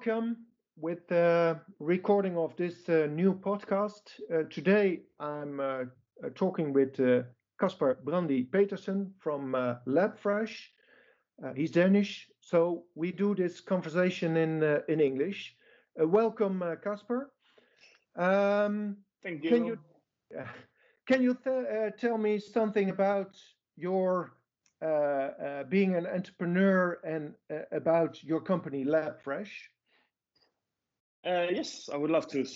welcome with the recording of this new podcast. Today I'm talking with Caspar Brandy Petersen from LabFresh. He's Danish, so we do this conversation in English. Welcome, Caspar. Thank Can you you. can you tell me something about your being an entrepreneur and about your company LabFresh? Yes, I would love to.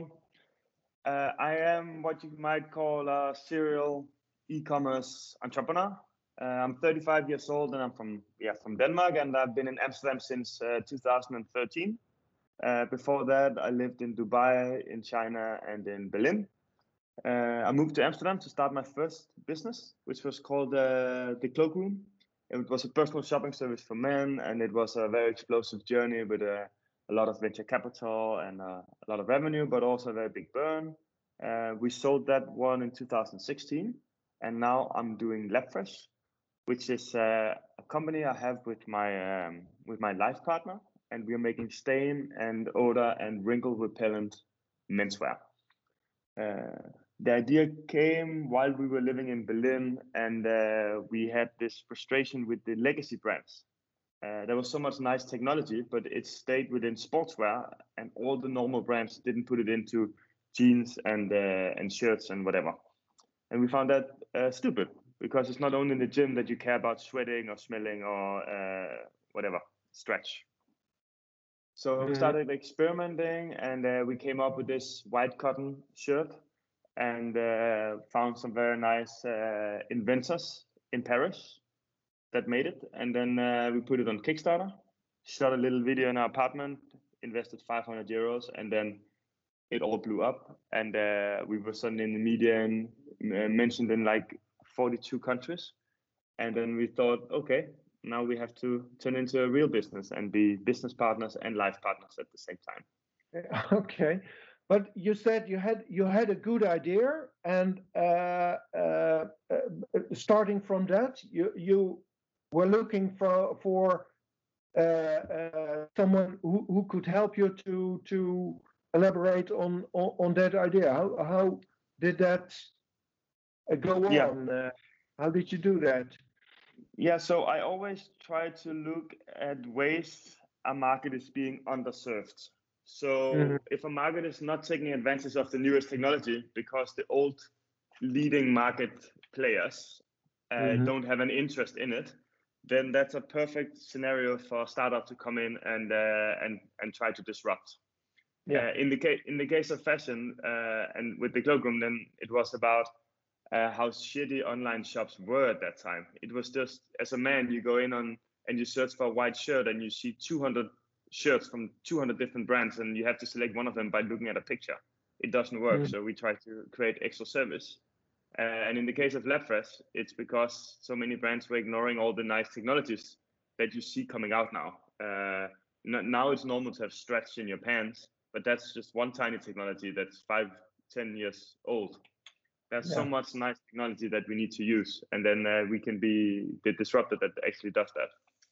I am what you might call a serial e-commerce entrepreneur. I'm 35 years old and I'm from Denmark, and I've been in Amsterdam since 2013. Before that, I lived in Dubai, in China, and in Berlin. I moved to Amsterdam to start my first business, which was called The Cloakroom. It was a personal shopping service for men, and it was a very explosive journey with a lot of venture capital and a lot of revenue, but also a very big burn. We sold that one in 2016, and now I'm doing LabFresh, which is a company I have with my life partner, and we are making stain and odor and wrinkle repellent menswear. The idea came while we were living in Berlin, and we had this frustration with the legacy brands. There was so much nice technology, but it stayed within sportswear, and all the normal brands didn't put it into jeans and shirts and whatever. And we found that stupid, because it's not only in the gym that you care about sweating or smelling or whatever stretch. So we Mhm. started experimenting, and we came up with this white cotton shirt, and found some very nice inventors in Paris that made it. And then we put it on Kickstarter, shot a little video in our apartment, invested 500 euros, and then it all blew up. And we were suddenly in the media and mentioned in like 42 countries. And then we thought, okay, now we have to turn into a real business and be business partners and life partners at the same time. Okay, but you said you had a good idea, and starting from that, you were looking for someone who could help you to elaborate on that idea. How did that go Yeah, on? How did you do that? yeah. So I always try to look at ways a market is being underserved. Mhm, So if a market is not taking advantage of the newest technology because the old leading market players mhm. don't have an interest in it, then that's a perfect scenario for a startup to come in and try to disrupt. Yeah. In the case of fashion and with the cloakroom, then it was about how shitty online shops were at that time. It was just, as a man, you go in on and you search for a white shirt and you see 200 shirts from 200 different brands, and you have to select one of them by looking at a picture. It doesn't work. Mm. So we try to create extra service. And in the case of LabFresh, it's because so many brands were ignoring all the nice technologies that you see coming out now. Now it's normal to have stretch in your pants, but that's just one tiny technology that's 5, 10 years old. There's so Yeah. much nice technology that we need to use, and then we can be the disruptor that actually does that.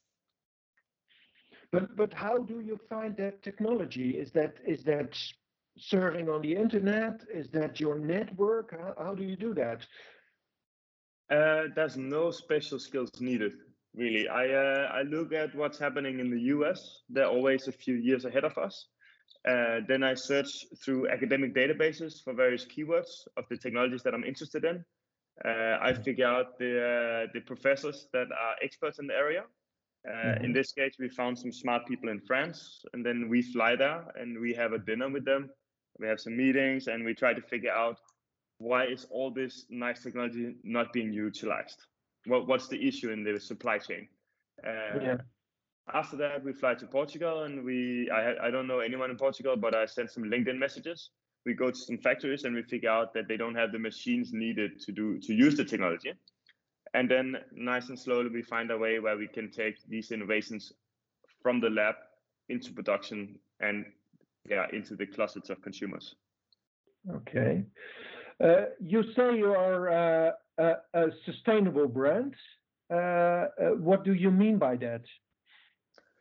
But how do you find that technology? Is that serving on the internet? Is that your network? How do you do that? There's no special skills needed, really. I look at what's happening in the US. They're always a few years ahead of us. Then I search through academic databases for various keywords of the technologies that I'm interested in. I figure out the professors that are experts in the area. In Hmm. this case, we found some smart people in France, and then we fly there and we have a dinner with them. We have some meetings, and we try to figure out why is all this nice technology not being utilized. What's the issue in the supply chain? Yeah. Uh, After that, we fly to Portugal, and I don't know anyone in Portugal, but I sent some LinkedIn messages. We go to some factories, and we figure out that they don't have the machines needed to use the technology. And then, nice and slowly, we find a way where we can take these innovations from the lab into production and into the closets of consumers. Okay. You say you are a sustainable brand. What do you mean by that?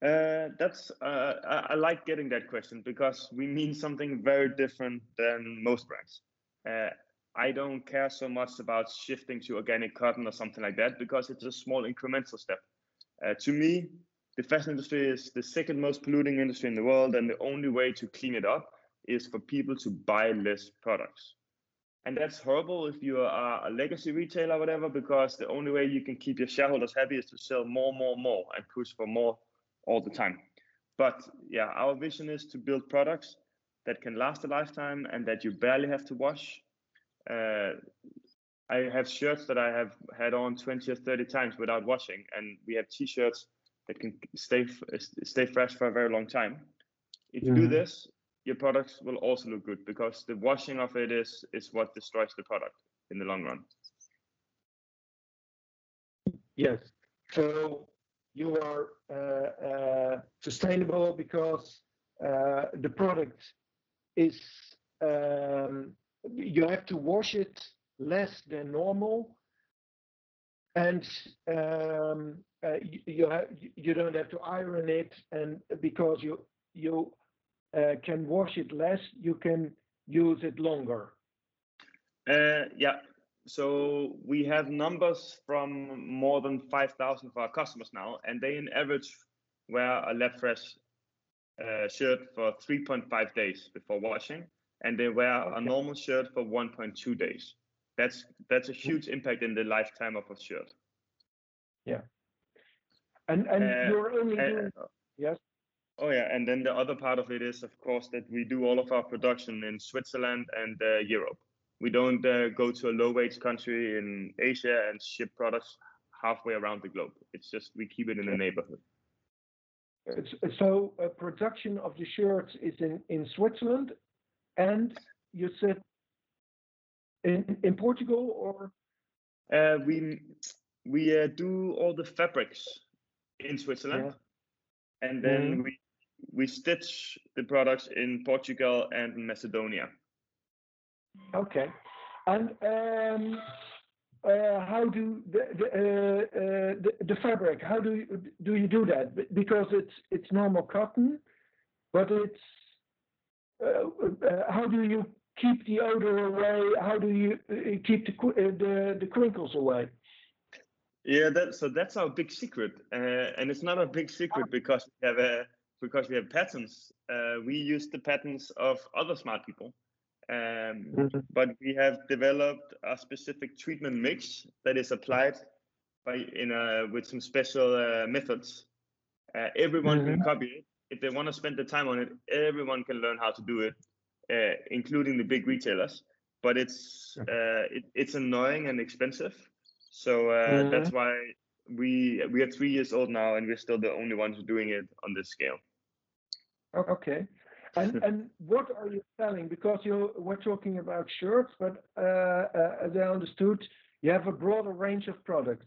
I like getting that question because we mean something very different than most brands. I don't care so much about shifting to organic cotton or something like that because it's a small incremental step. To me, the fashion industry is the second most polluting industry in the world, and the only way to clean it up is for people to buy less products. And that's horrible if you are a legacy retailer or whatever, because the only way you can keep your shareholders happy is to sell more, more, more and push for more all the time. But yeah, our vision is to build products that can last a lifetime and that you barely have to wash. Uh, I have shirts that I have had on 20 or 30 times without washing, and we have t-shirts that can stay fresh for a very long time. If you do this, your products will also look good because the washing of it is what destroys the product in the long run. Yes. So you are sustainable because the product is you have to wash it less than normal, and you don't have to iron it, and because you can wash it less, you can use it longer. Yeah. So we have numbers from more than 5,000 of our customers now, and they in average wear a Lab Fresh shirt for 3.5 days before washing, and they wear a normal shirt for 1.2 days. That's a huge impact in the lifetime of a shirt. Yeah. And you're only doing yes. Oh yeah, and then the other part of it is, of course, that we do all of our production in Switzerland and Europe. We don't go to a low-wage country in Asia and ship products halfway around the globe. It's just we keep it in the neighborhood. So production of the shirts is in Switzerland, and you said in Portugal, or we do all the fabrics in Switzerland, and then we stitch the products in Portugal and in Macedonia. Okay, and how do the fabric? How do you do that? Because it's normal cotton, but it's how do you keep the odor away? How do you keep the crinkles away? Yeah, that's our big secret, and it's not a big secret because we have patents. We use the patents of other smart people, but we have developed a specific treatment mix that is applied with some special methods. Everyone can copy it if they want to spend the time on it. Everyone can learn how to do it, including the big retailers. But it's annoying and expensive. So that's why we are 3 years old now, and we're still the only ones doing it on this scale. Okay. And what are you selling? Because we're talking about shirts, but as I understood, you have a broader range of products.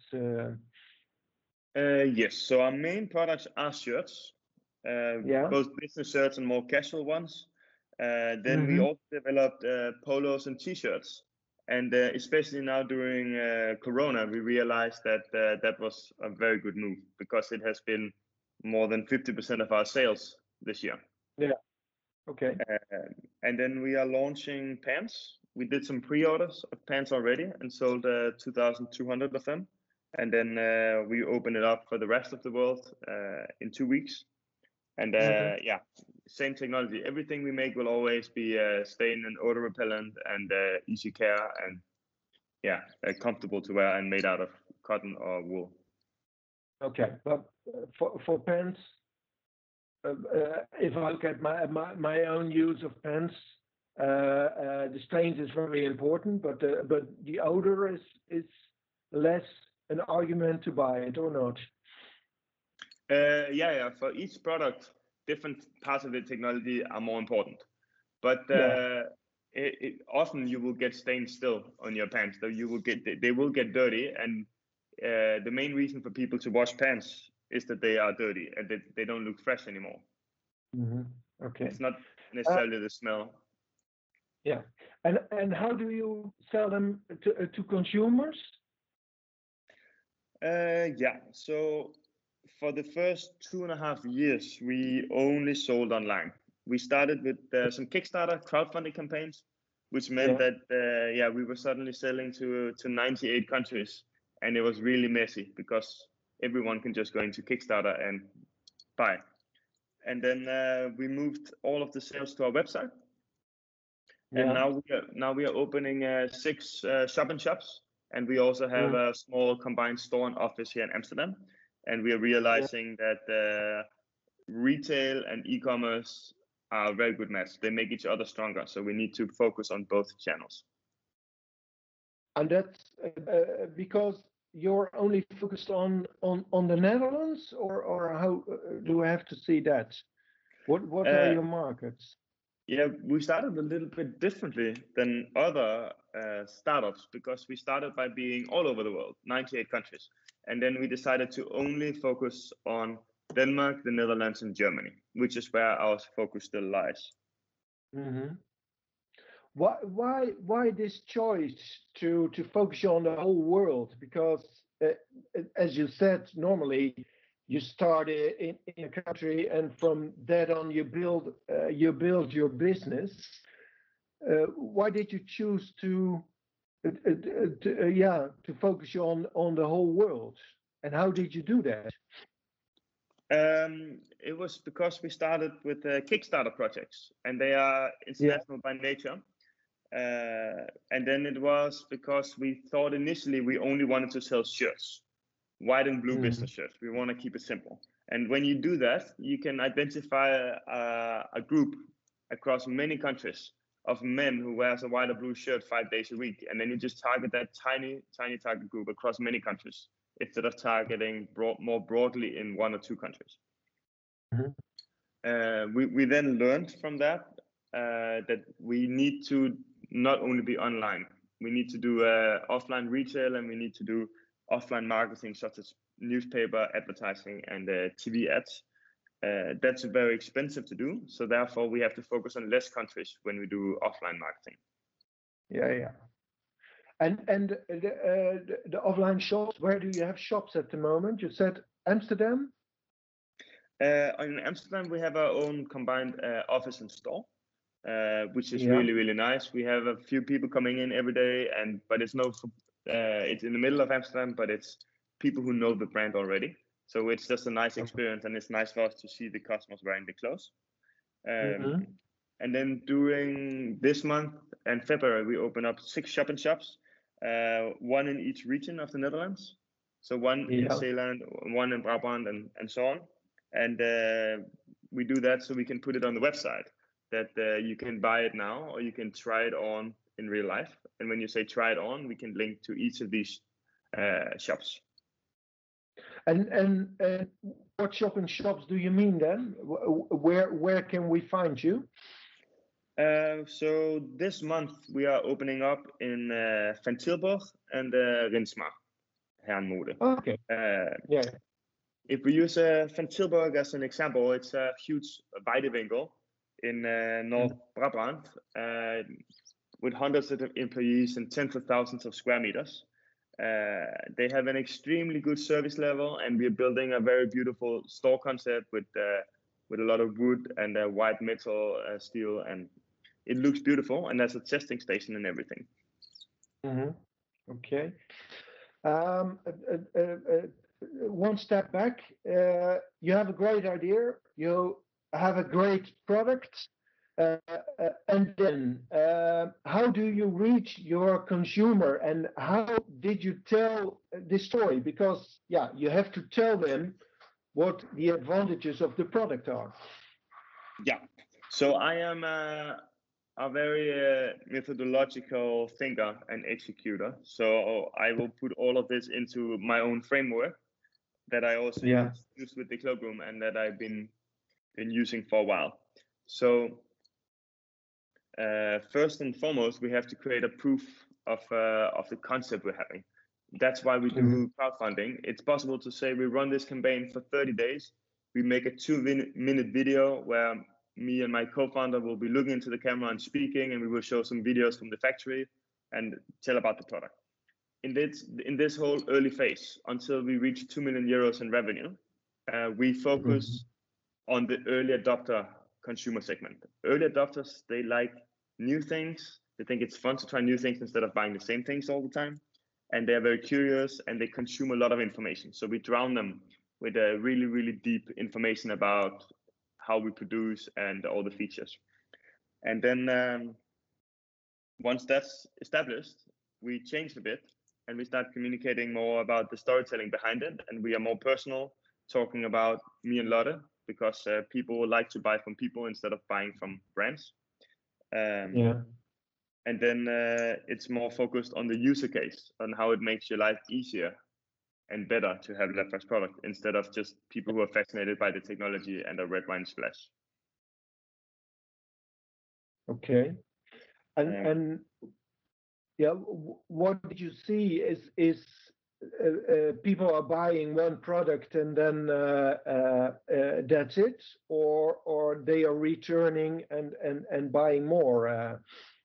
Yes. So our main products are shirts, both business shirts and more casual ones. Then we also developed polos and t-shirts. And especially now during Corona, we realized that that was a very good move because it has been more than 50% of our sales this year. Yeah. Okay. And then we are launching pants. We did some pre-orders of pants already and sold 2,200 of them. And then we open it up for the rest of the world in 2 weeks. And yeah, same technology. Everything we make will always be stain and odor repellent and easy care and comfortable to wear and made out of cotton or wool. Okay, but for pants, if I look at my own use of pants, the stains is very important, but the odor is less an argument to buy it or not. Yeah. For each product, different parts of the technology are more important. But often you will get stains still on your pants. So they will get dirty, and the main reason for people to wash pants is that they are dirty and they don't look fresh anymore. Okay. It's not necessarily the smell. Yeah, and how do you sell them to consumers? Yeah. So For the first 2.5 years, we only sold online. We started with some Kickstarter crowdfunding campaigns, which meant that we were suddenly selling to 98 countries, and it was really messy because everyone can just go into Kickstarter and buy. And then we moved all of the sales to our website, and now we are opening 6 shop-in-shops, and we also have a small combined store and office here in Amsterdam. And we are realizing that retail and e-commerce are a very good match. They make each other stronger, so we need to focus on both channels. And that's because you're only focused on the Netherlands, or how do I have to see that? What are your markets? Yeah, we started a little bit differently than other startups because we started by being all over the world, 98 countries. And then we decided to only focus on Denmark, the Netherlands, and Germany, which is where our focus still lies. Mm-hmm. Why this choice to focus on the whole world? Because as you said, normally you start in a country, and from that on you build your business. Why did you choose to focus on the whole world, and how did you do that? It was because we started with Kickstarter projects, and they are international by nature. And then it was because we thought initially we only wanted to sell shirts, white and blue business shirts. We want to keep it simple. And when you do that, you can identify a group across many countries of men who wears a white or blue shirt 5 days a week. And then you just target that tiny target group across many countries instead of targeting more broadly in 1 or 2 countries. We then learned from that that we need to not only be online, we need to do offline retail, and we need to do offline marketing such as newspaper advertising and TV ads. That's very expensive to do, so therefore we have to focus on less countries when we do offline marketing. And the offline shops, where do you have shops at the moment? You said Amsterdam? In Amsterdam, we have our own combined office and store, which is really nice. We have a few people coming in every day, but it's in the middle of Amsterdam, but it's people who know the brand already. So it's just a nice experience, and it's nice for us to see the customers wearing the clothes. And then during this month and February, we open up 6 shop-in-shops, 1 in each region of the Netherlands. So 1 in Zeeland, 1 in Brabant, and so on. And we do that so we can put it on the website, that you can buy it now or you can try it on in real life. And when you say try it on, we can link to each of these shops. And what shop-in-shops do you mean then? Where can we find you? So this month we are opening up in Van Tilburg and Rinsma, Herrenmode. Okay. If we use Van Tilburg as an example, it's a huge Weidewinkel in North Brabant with hundreds of employees and tens of thousands of square meters. They have an extremely good service level, and we are building a very beautiful store concept with a lot of wood and white metal steel, and it looks beautiful, and there's a testing station and everything. Okay. One step back, you have a great idea, you have a great product, and then how do you reach your consumer, and how did you tell this story? Because you have to tell them what the advantages of the product are. So I am a very methodological thinker and executor. So I will put all of this into my own framework that I also use with the Cloakroom, and that I've been using for a while. So first and foremost, we have to create a proof of the concept we're having. That's why we do crowdfunding. It's possible to say we run this campaign for 30 days. We make a 2-minute video where me and my co-founder will be looking into the camera and speaking, and we will show some videos from the factory and tell about the product. In this whole early phase, until we reach 2 million euros in revenue, We focus on the early adopter consumer segment. Early adopters, they like new things. They think it's fun to try new things instead of buying the same things all the time. And they're very curious and they consume a lot of information. So we drown them with a really, really deep information about how we produce and all the features. And then once that's established, we change a bit and we start communicating more about the storytelling behind it. And we are more personal, talking about me and Lotte, because people like to buy from people instead of buying from brands. And then it's more focused on the user case, on how it makes your life easier and better to have LabFresh product instead of just people who are fascinated by the technology and a red wine splash. Okay. And what did you see is people are buying one product and then that's it, or they are returning and buying more?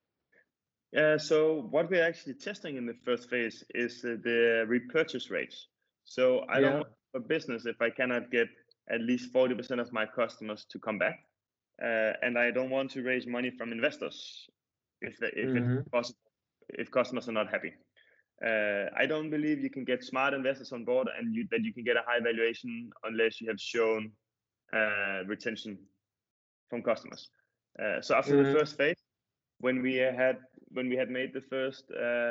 So what we're actually testing in the first phase is the repurchase rates. So I don't want a business if I cannot get at least 40% of my customers to come back, and I don't want to raise money from investors if it's possible, if customers are not happy. I don't believe you can get smart investors on board and that you can get a high valuation unless you have shown retention from customers. So after the first phase, when we had made the first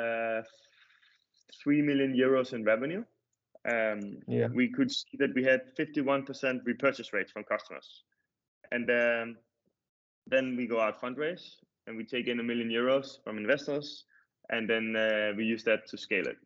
3 million euros in revenue, we could see that we had 51% repurchase rates from customers. And then we go out fundraise and we take in 1 million euros from investors, and then we use that to scale it.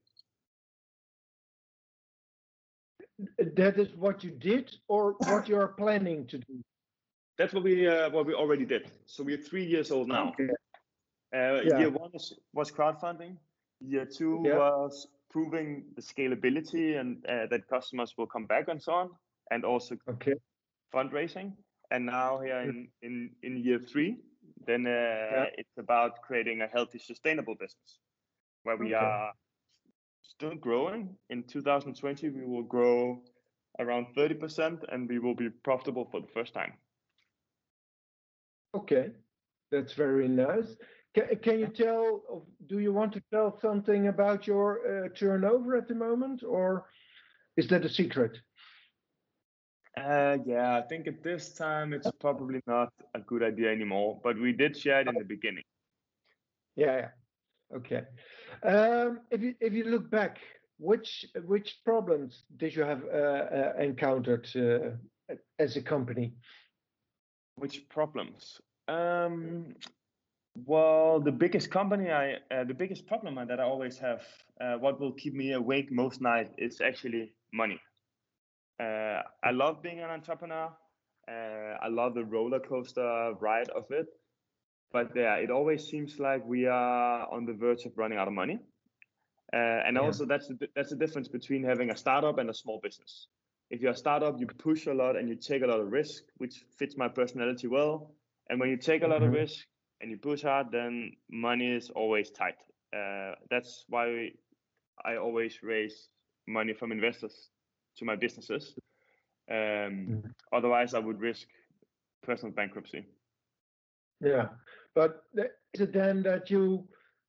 That is what you did, or what you are planning to do? That's what we already did. So we're 3 years old now. Okay. Year one was crowdfunding. Year two was proving the scalability and that customers will come back and so on, and also fundraising. And now here in year three, then it's about creating a healthy, sustainable business where we are still growing. In 2020, we will grow around 30% and we will be profitable for the first time. Okay, that's very nice. Can you tell, do you want to tell something about your turnover at the moment, or is that a secret? Yeah, I think at this time it's probably not a good idea anymore, but we did share it in the beginning. Yeah. Okay. If you look back, which problems did you have encountered as a company? Which problems? Well, the biggest problem that I always have, what will keep me awake most night is actually money. I love being an entrepreneur. I love the roller coaster ride of it. But yeah, it always seems like we are on the verge of running out of money. And also that's the difference between having a startup and a small business. If you're a startup, you push a lot and you take a lot of risk, which fits my personality well. And when you take a lot of risk and you push hard, then money is always tight. That's why I always raise money from investors to my businesses. Otherwise, I would risk personal bankruptcy. Yeah, but is it then that you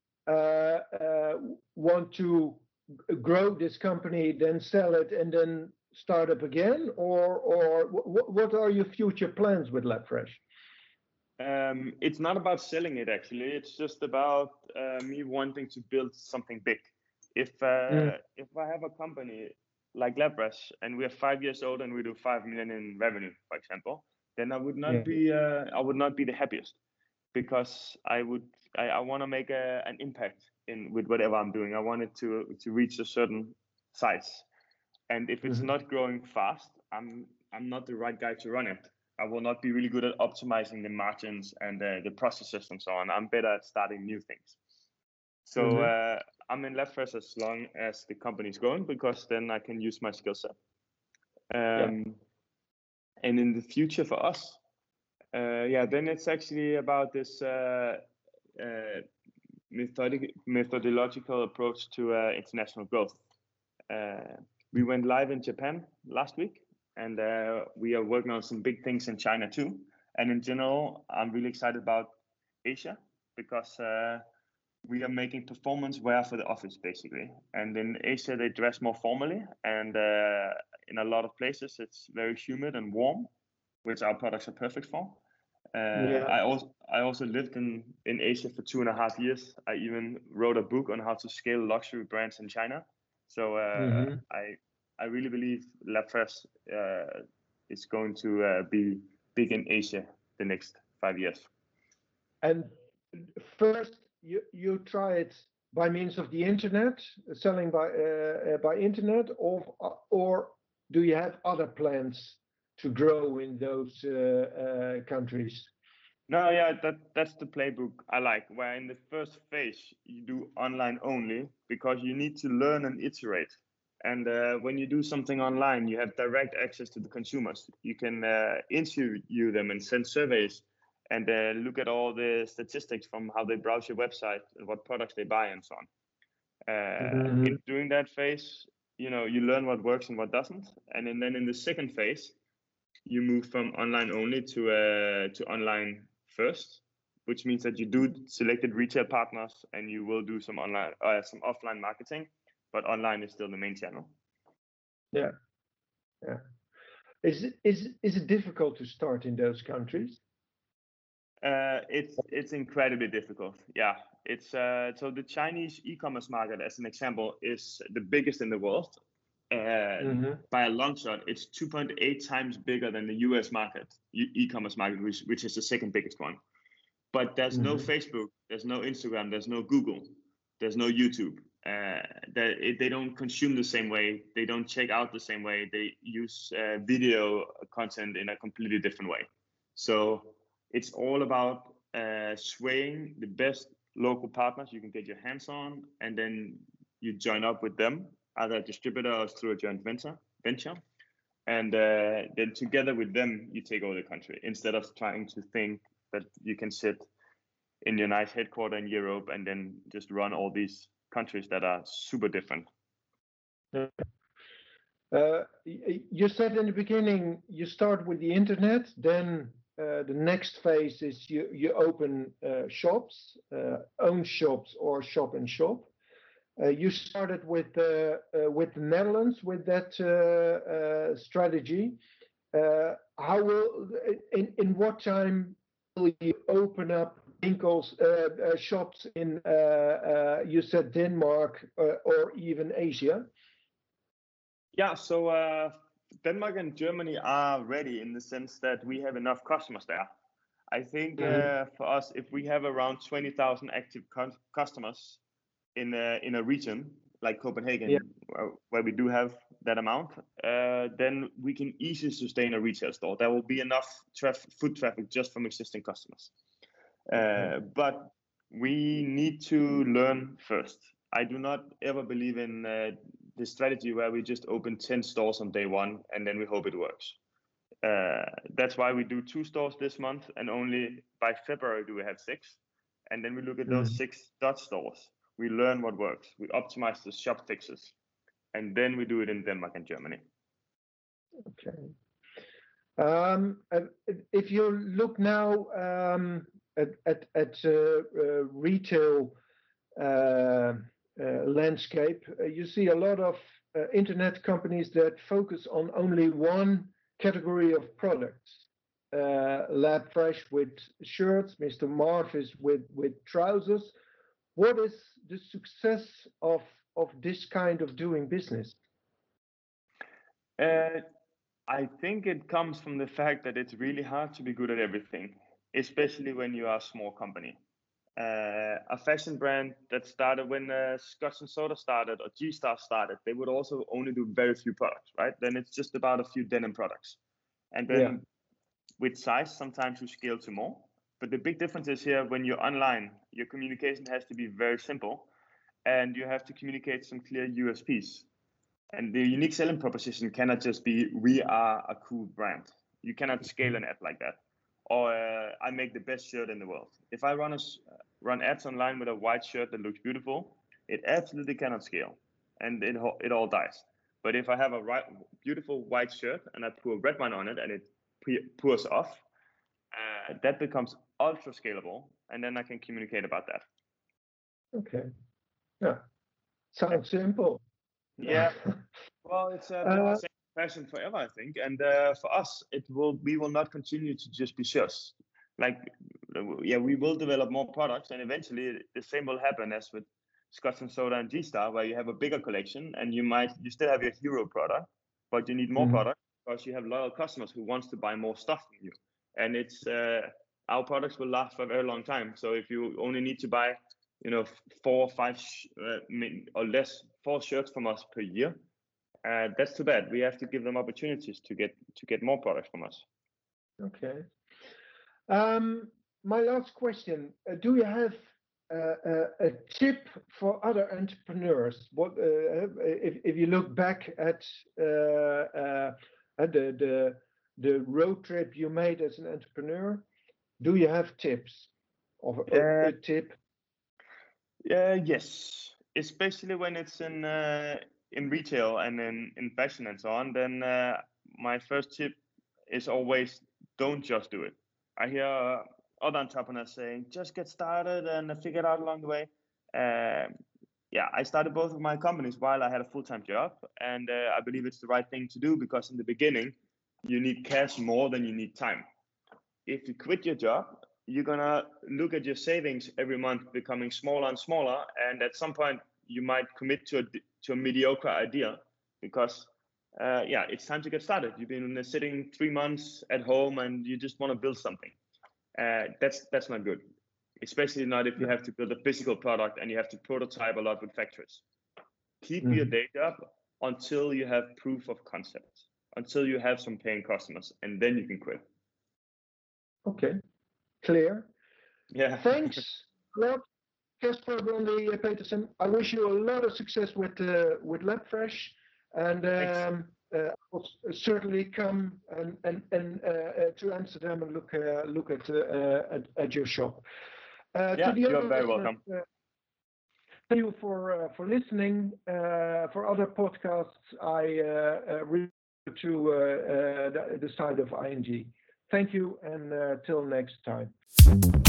want to grow this company, then sell it, and then start up again, or what are your future plans with LabFresh? It's not about selling it, actually. It's just about me wanting to build something big. If I have a company like LabFresh and we are 5 years old and we do 5 million in revenue, for example, then I would not be the happiest, because I want to make an impact with whatever I'm doing. I want it to reach a certain size, and if it's not growing fast, I'm not the right guy to run it. I will not be really good at optimizing the margins and the processes and so on. I'm better at starting new things. So I'm in LabFresh as long as the company is growing, because then I can use my skill set. And in the future for us, then it's actually about this methodological approach to international growth. We went live in Japan last week, and we are working on some big things in China too. And in general, I'm really excited about Asia because we are making performance wear for the office basically. And in Asia, they dress more formally, and in a lot of places, it's very humid and warm, which our products are perfect for. Yeah. I also lived in Asia for 2.5 years. I even wrote a book on how to scale luxury brands in China. So Hmm. I really believe LabFresh is going to be big in Asia the next 5 years. And first, you try it by means of the internet, selling by internet, or do you have other plans to grow in those countries? No, yeah, that's the playbook I like, where in the first phase you do online only because you need to learn and iterate. And when you do something online, you have direct access to the consumers. You can interview them and send surveys and look at all the statistics from how they browse your website and what products they buy and so on. Hmm. In during that phase, you learn what works and what doesn't. And then in the second phase, you move from online only to online first, which means that you do selected retail partners and you will do some some offline marketing, but online is still the main channel. Yeah, yeah. Is it difficult to start in those countries? It's incredibly difficult. Yeah, it's so the Chinese e-commerce market, as an example, is the biggest in the world. Hmm. By a long shot, it's 2.8 times bigger than the US market, e-commerce market, which is the second biggest one. But there's no Hmm. Facebook, there's no Instagram, there's no Google, there's no YouTube. They don't consume the same way. They don't check out the same way. They use video content in a completely different way. So it's all about swaying the best local partners you can get your hands on, and then you join up with them, either a distributor or through a joint venture, and then together with them you take over the country instead of trying to think that you can sit in your nice headquarter in Europe and then just run all these countries that are super different. You said in the beginning you start with the internet, then the next phase is you open shops, own shops or shop in shop. You started with the Netherlands with that strategy. How will in what time will you open up Winkels shops in you said Denmark or even Asia? Yeah, so Denmark and Germany are ready in the sense that we have enough customers there. I think Mhm. for us, if we have around 20,000 active customers in a region like Yeah. Copenhagen, where we do have that amount, then we can easily sustain a retail store. There will be enough foot traffic just from existing customers. Okay. But we need to learn first. I do not ever believe in the strategy where we just open 10 stores on day one and then we hope it works. That's why we do 2 stores this month, and only by February do we have 6. And then we look at those Mhm. 6 Dutch stores. We learn what works. We optimize the shop fixes, and then we do it in Denmark and Germany. Okay. If you look now at retail landscape, you see a lot of internet companies that focus on only one category of products. LabFresh with shirts, Mr. Marvis with trousers. What is the success of this kind of doing business? Uh, I think it comes from the fact that it's really hard to be good at everything, especially when you are a small company. A fashion brand that started when Scotch and Soda started or G-Star started, they would also only do very few products, right? Then it's just about a few denim products. And Yeah. then with size, sometimes you scale to more. But the big difference is here when you're online, your communication has to be very simple and you have to communicate some clear USPs. And the unique selling proposition cannot just be, we are a cool brand. You cannot scale an ad like that. Or I make the best shirt in the world. If I run ads online with a white shirt that looks beautiful, it absolutely cannot scale. And it all dies. But if I have a beautiful white shirt and I pour red wine on it and it pours off, that becomes ultra scalable, and then I can communicate about that. Okay. Yeah. Sounds simple. Yeah. Well, it's been the same passion forever, I think, and for us, we will not continue to just be sales. Like, yeah, we will develop more products, and eventually the same will happen as with Scotch and Soda and G-Star, where you have a bigger collection, and you still have your hero product, but you need more products because you have loyal customers who wants to buy more stuff from you, and it's our products will last for a very long time. So if you only need to buy 4 or 5 or less 4 shirts from us per year, that's too bad. We have to give them opportunities to get more products from us. Okay. My last question: do you have a tip for other entrepreneurs? What if you look back at the road trip you made as an entrepreneur? Do you have tips or a tip? Yes, especially when it's in retail and in fashion and so on. Then my first tip is always don't just do it. I hear other entrepreneurs saying just get started and figure it out along the way. I started both of my companies while I had a full-time job, and I believe it's the right thing to do because in the beginning you need cash more than you need time. If you quit your job, you're gonna look at your savings every month becoming smaller and smaller, and at some point you might commit to a mediocre idea because it's time to get started. You've been sitting 3 months at home and you just want to build something. That's not good, especially not if you have to build a physical product and you have to prototype a lot with factories. Keep your day job until you have proof of concept, until you have some paying customers, and then you can quit. Okay, clear. Yeah. Thanks a lot, Casper Brandy Petersen. I wish you a lot of success with LabFresh, and I will certainly come and to Amsterdam and look at your shop. You're very welcome. Thank you for listening. For other podcasts, I refer to the site of ING. Thank you, and till next time.